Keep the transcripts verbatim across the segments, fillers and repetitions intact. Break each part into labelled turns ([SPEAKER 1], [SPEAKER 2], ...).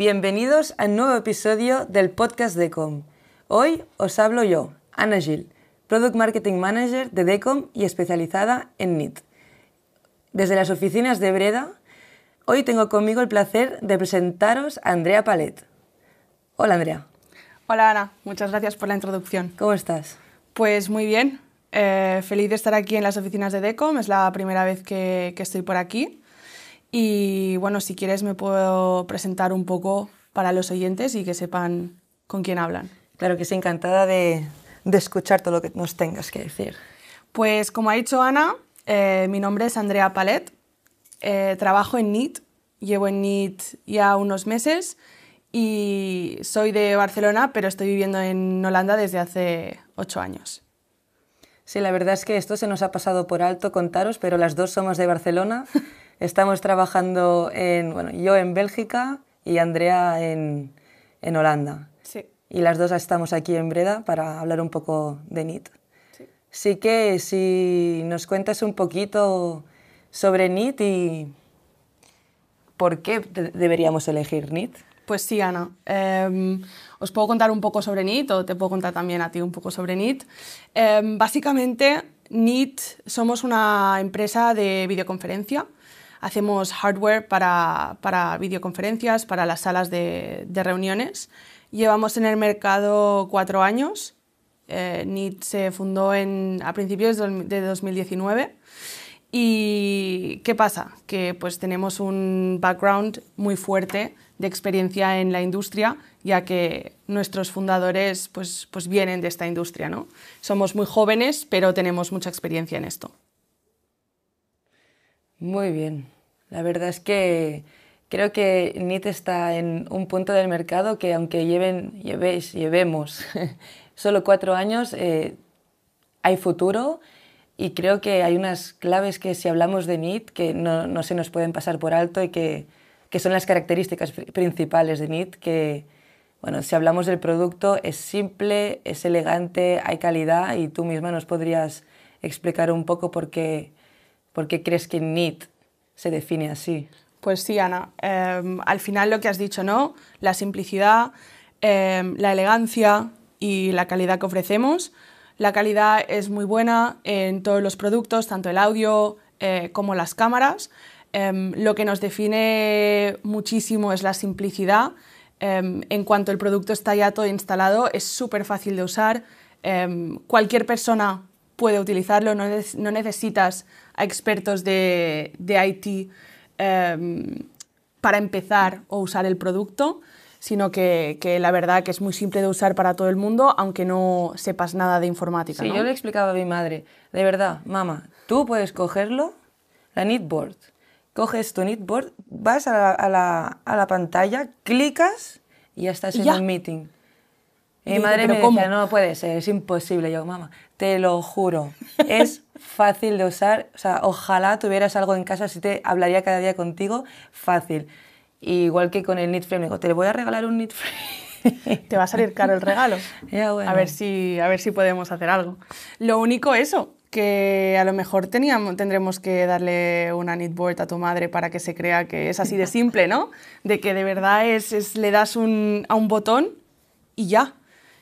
[SPEAKER 1] Bienvenidos a un nuevo episodio del podcast Decom. Hoy os hablo yo, Ana Gil, Product Marketing Manager de Decom y especializada en N I T. Desde las oficinas de Breda, hoy tengo conmigo el placer de presentaros a Andrea Palet. Hola, Andrea.
[SPEAKER 2] Hola, Ana. Muchas gracias por la introducción.
[SPEAKER 1] ¿Cómo estás?
[SPEAKER 2] Pues muy bien. Eh, feliz de estar aquí en las oficinas de Decom. Es la primera vez que, que estoy por aquí. Y bueno, si quieres me puedo presentar un poco para los oyentes y que sepan con quién hablan.
[SPEAKER 1] Claro que sí, encantada de, de escuchar todo lo que nos tengas que decir.
[SPEAKER 2] Pues como ha dicho Ana, eh, mi nombre es Andrea Palet. Eh, trabajo en N I T. Llevo en N I T ya unos meses y soy de Barcelona, pero estoy viviendo en Holanda desde hace ocho años.
[SPEAKER 1] Sí, la verdad es que esto se nos ha pasado por alto contaros, pero las dos somos de Barcelona. Estamos trabajando en, bueno, yo en Bélgica y Andrea en, en Holanda.
[SPEAKER 2] Sí.
[SPEAKER 1] Y las dos estamos aquí en Breda para hablar un poco de N I T.
[SPEAKER 2] Sí.
[SPEAKER 1] Así que si nos cuentas un poquito sobre N I T y por qué deberíamos elegir N I T.
[SPEAKER 2] Pues sí, Ana. Eh, os puedo contar un poco sobre N I T o te puedo contar también a ti un poco sobre N I T. Eh, básicamente, N I T somos una empresa de videoconferencia. Hacemos hardware para, para videoconferencias, para las salas de, de reuniones. Llevamos en el mercado cuatro años. Eh, N I T se fundó en, a principios de dos mil diecinueve. ¿Y qué pasa? Que pues, tenemos un background muy fuerte de experiencia en la industria, ya que nuestros fundadores pues, pues vienen de esta industria, ¿no? Somos muy jóvenes, pero tenemos mucha experiencia en esto.
[SPEAKER 1] Muy bien. La verdad es que creo que N I T está en un punto del mercado que aunque lleven, llevéis, llevemos solo cuatro años, eh, hay futuro y creo que hay unas claves que si hablamos de N I T que no, no se nos pueden pasar por alto y que, que son las características principales de N I T, que bueno, si hablamos del producto es simple, es elegante, hay calidad y tú misma nos podrías explicar un poco por qué, por qué crees que N I T se define así.
[SPEAKER 2] Pues sí, Ana. Eh, al final lo que has dicho, ¿no? La simplicidad, eh, la elegancia y la calidad que ofrecemos. La calidad es muy buena en todos los productos, tanto el audio eh, como las cámaras. Eh, lo que nos define muchísimo es la simplicidad. Eh, en cuanto el producto está ya todo instalado, es súper fácil de usar. Eh, cualquier persona puede utilizarlo, no, ne- no necesitas a expertos de, de I T eh, para empezar o usar el producto, sino que, que la verdad que es muy simple de usar para todo el mundo, aunque no sepas nada de informática.
[SPEAKER 1] Sí,
[SPEAKER 2] ¿no?
[SPEAKER 1] yo le explicaba a mi madre, de verdad, mamá, tú puedes cogerlo, la N I T Board, coges tu N I T Board, vas a la, a la, a la pantalla, clicas y ya estás
[SPEAKER 2] ¿Y
[SPEAKER 1] en
[SPEAKER 2] ya?
[SPEAKER 1] un meeting. Y
[SPEAKER 2] Y
[SPEAKER 1] mi
[SPEAKER 2] dice,
[SPEAKER 1] madre
[SPEAKER 2] ¿pero
[SPEAKER 1] me
[SPEAKER 2] cómo?
[SPEAKER 1] decía, no puede ser, es imposible. Yo, mamá, te lo juro, es fácil de usar. O sea, ojalá tuvieras algo en casa, si te hablaría cada día contigo, fácil. Y igual que con el N I T Frame, digo, te voy a regalar un N I T Frame.
[SPEAKER 2] Te va a salir caro el regalo.
[SPEAKER 1] Ya, bueno.
[SPEAKER 2] A ver si, a ver si podemos hacer algo. Lo único eso, que a lo mejor teníamos, tendremos que darle una N I T Board a tu madre para que se crea que es así de simple, ¿no? De que de verdad es, es le das un, a un botón y ya.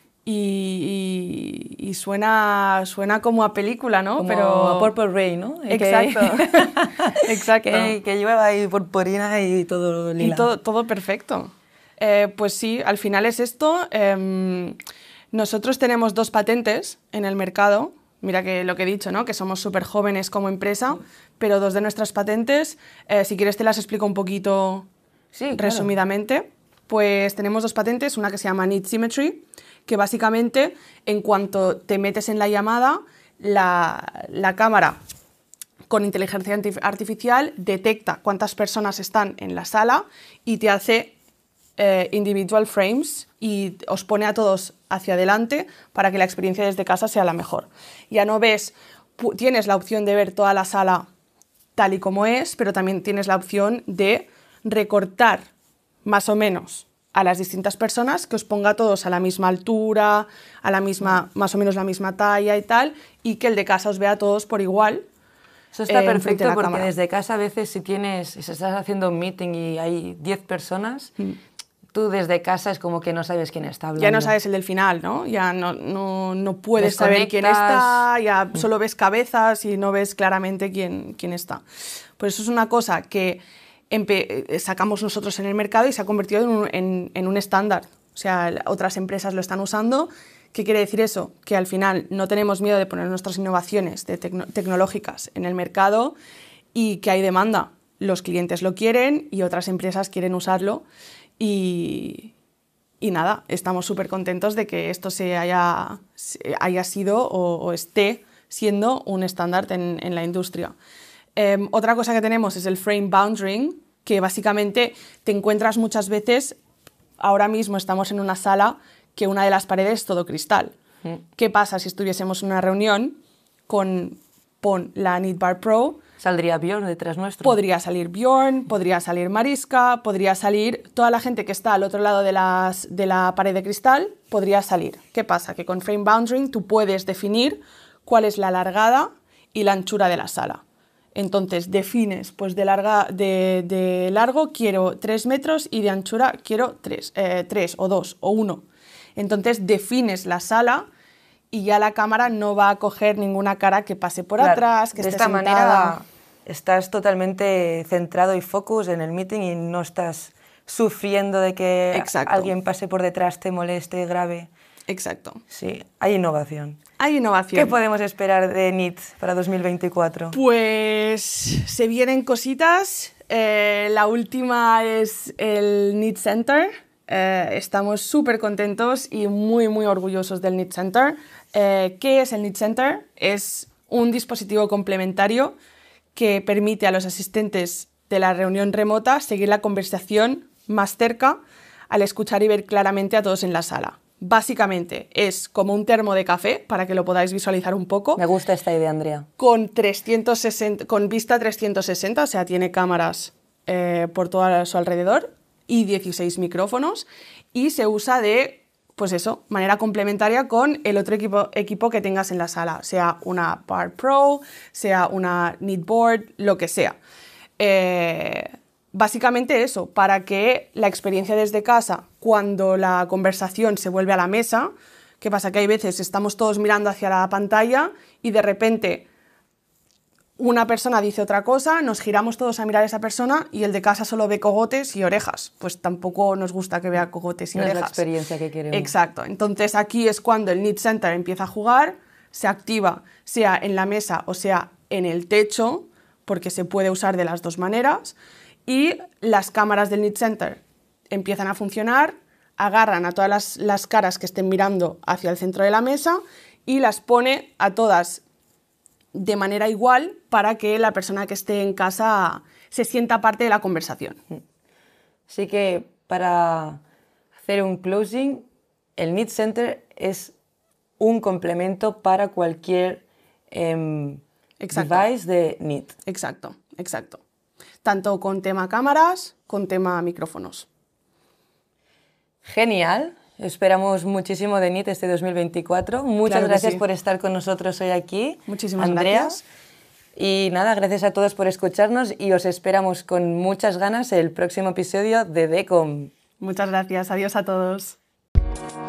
[SPEAKER 2] Y, y, y suena, suena como a película, ¿no?
[SPEAKER 1] Como
[SPEAKER 2] Pero
[SPEAKER 1] a Purple Rain, ¿no?
[SPEAKER 2] Exacto.
[SPEAKER 1] Que,
[SPEAKER 2] Exacto.
[SPEAKER 1] que, que lleva ahí purpurina y todo lila.
[SPEAKER 2] Y todo, todo perfecto. Eh, pues sí, al final es esto. Eh, nosotros tenemos dos patentes en el mercado. Mira que lo que he dicho, ¿no? Que somos súper jóvenes como empresa, pero dos de nuestras patentes, eh, si quieres te las explico un poquito
[SPEAKER 1] Sí, claro.
[SPEAKER 2] resumidamente. Pues tenemos dos patentes, una que se llama N I T Symmetry, que básicamente en cuanto te metes en la llamada, la, la cámara con inteligencia artificial detecta cuántas personas están en la sala y te hace eh, individual frames y os pone a todos hacia adelante para que la experiencia desde casa sea la mejor. Ya no ves, tienes la opción de ver toda la sala tal y como es, pero también tienes la opción de recortar más o menos a las distintas personas, que os ponga a todos a la misma altura, a la misma, más o menos la misma talla y tal, y que el de casa os vea a todos por igual.
[SPEAKER 1] Eso está
[SPEAKER 2] eh,
[SPEAKER 1] perfecto
[SPEAKER 2] la
[SPEAKER 1] porque
[SPEAKER 2] cámara.
[SPEAKER 1] desde casa a veces si tienes, si estás haciendo un meeting y hay diez personas, mm. tú desde casa es como que no sabes quién está hablando.
[SPEAKER 2] Ya no sabes el del final, ¿no? Ya no, no, no puedes saber quién está, ya solo ves cabezas y no ves claramente quién, quién está. Pues eso es una cosa que sacamos nosotros en el mercado y se ha convertido en un, en, en un estándar. O sea, otras empresas lo están usando. ¿Qué quiere decir eso? Que al final no tenemos miedo de poner nuestras innovaciones de tecno tecnológicas en el mercado y que hay demanda. Los clientes lo quieren y otras empresas quieren usarlo y, y nada, estamos súper contentos de que esto se haya, se haya sido o, o esté siendo un estándar en, en la industria. Eh, otra cosa que tenemos es el frame boundary, que básicamente te encuentras muchas veces, ahora mismo estamos en una sala que una de las paredes es todo cristal. Mm. ¿Qué pasa si estuviésemos en una reunión con pon la Neatbar Pro?
[SPEAKER 1] ¿Saldría Bjorn detrás nuestro?
[SPEAKER 2] Podría salir Bjorn, podría salir Mariska, podría salir toda la gente que está al otro lado de, las, de la pared de cristal, podría salir. ¿Qué pasa? Que con frame boundary tú puedes definir cuál es la largada y la anchura de la sala. Entonces defines, pues de, larga, de, de largo quiero tres metros y de anchura quiero tres, eh, tres o dos o uno. Entonces defines la sala y ya la cámara no va a coger ninguna cara que pase por claro, atrás, que
[SPEAKER 1] de
[SPEAKER 2] esté
[SPEAKER 1] esta
[SPEAKER 2] sentada.
[SPEAKER 1] manera estás totalmente centrado y focus en el meeting y no estás sufriendo de que Exacto. alguien pase por detrás, te moleste, grave.
[SPEAKER 2] Exacto.
[SPEAKER 1] Sí, hay innovación.
[SPEAKER 2] Hay innovación.
[SPEAKER 1] ¿Qué podemos esperar de Neat para dos mil veinticuatro?
[SPEAKER 2] Pues se vienen cositas. Eh, la última es el Neat Center. Eh, estamos súper contentos y muy, muy orgullosos del Neat Center. Eh, ¿Qué es el Neat Center? Es un dispositivo complementario que permite a los asistentes de la reunión remota seguir la conversación más cerca al escuchar y ver claramente a todos en la sala. Básicamente es como un termo de café, para que lo podáis visualizar un poco.
[SPEAKER 1] Me gusta esta idea, Andrea.
[SPEAKER 2] Con, trescientos sesenta, con vista trescientos sesenta, o sea, tiene cámaras eh, por todo a su alrededor y dieciséis micrófonos y se usa de, pues eso, manera complementaria con el otro equipo, equipo que tengas en la sala, sea una Bar Pro, sea una Neatboard, lo que sea. Eh, Básicamente eso, para que la experiencia desde casa, cuando la conversación se vuelve a la mesa, ¿qué pasa? Que hay veces estamos todos mirando hacia la pantalla y de repente una persona dice otra cosa, nos giramos todos a mirar a esa persona y el de casa solo ve cogotes y orejas. Pues tampoco nos gusta que vea cogotes y
[SPEAKER 1] no
[SPEAKER 2] orejas.
[SPEAKER 1] Es la experiencia que queremos.
[SPEAKER 2] Exacto. Entonces aquí es cuando el Neat Center empieza a jugar, se activa, sea en la mesa o sea en el techo, porque se puede usar de las dos maneras. Y las cámaras del Neat Center empiezan a funcionar, agarran a todas las, las caras que estén mirando hacia el centro de la mesa y las pone a todas de manera igual para que la persona que esté en casa se sienta parte de la conversación.
[SPEAKER 1] Así que para hacer un closing, el Neat Center es un complemento para cualquier eh, device de Neat.
[SPEAKER 2] Exacto, exacto. Tanto con tema cámaras, con tema micrófonos.
[SPEAKER 1] Genial. Esperamos muchísimo de Neat este dos mil veinticuatro. Muchas claro gracias sí. por estar con nosotros hoy aquí,
[SPEAKER 2] Muchísimas
[SPEAKER 1] Andrea.
[SPEAKER 2] gracias.
[SPEAKER 1] Y nada, gracias a todos por escucharnos y os esperamos con muchas ganas el próximo episodio de DECOM.
[SPEAKER 2] Muchas gracias. Adiós a todos.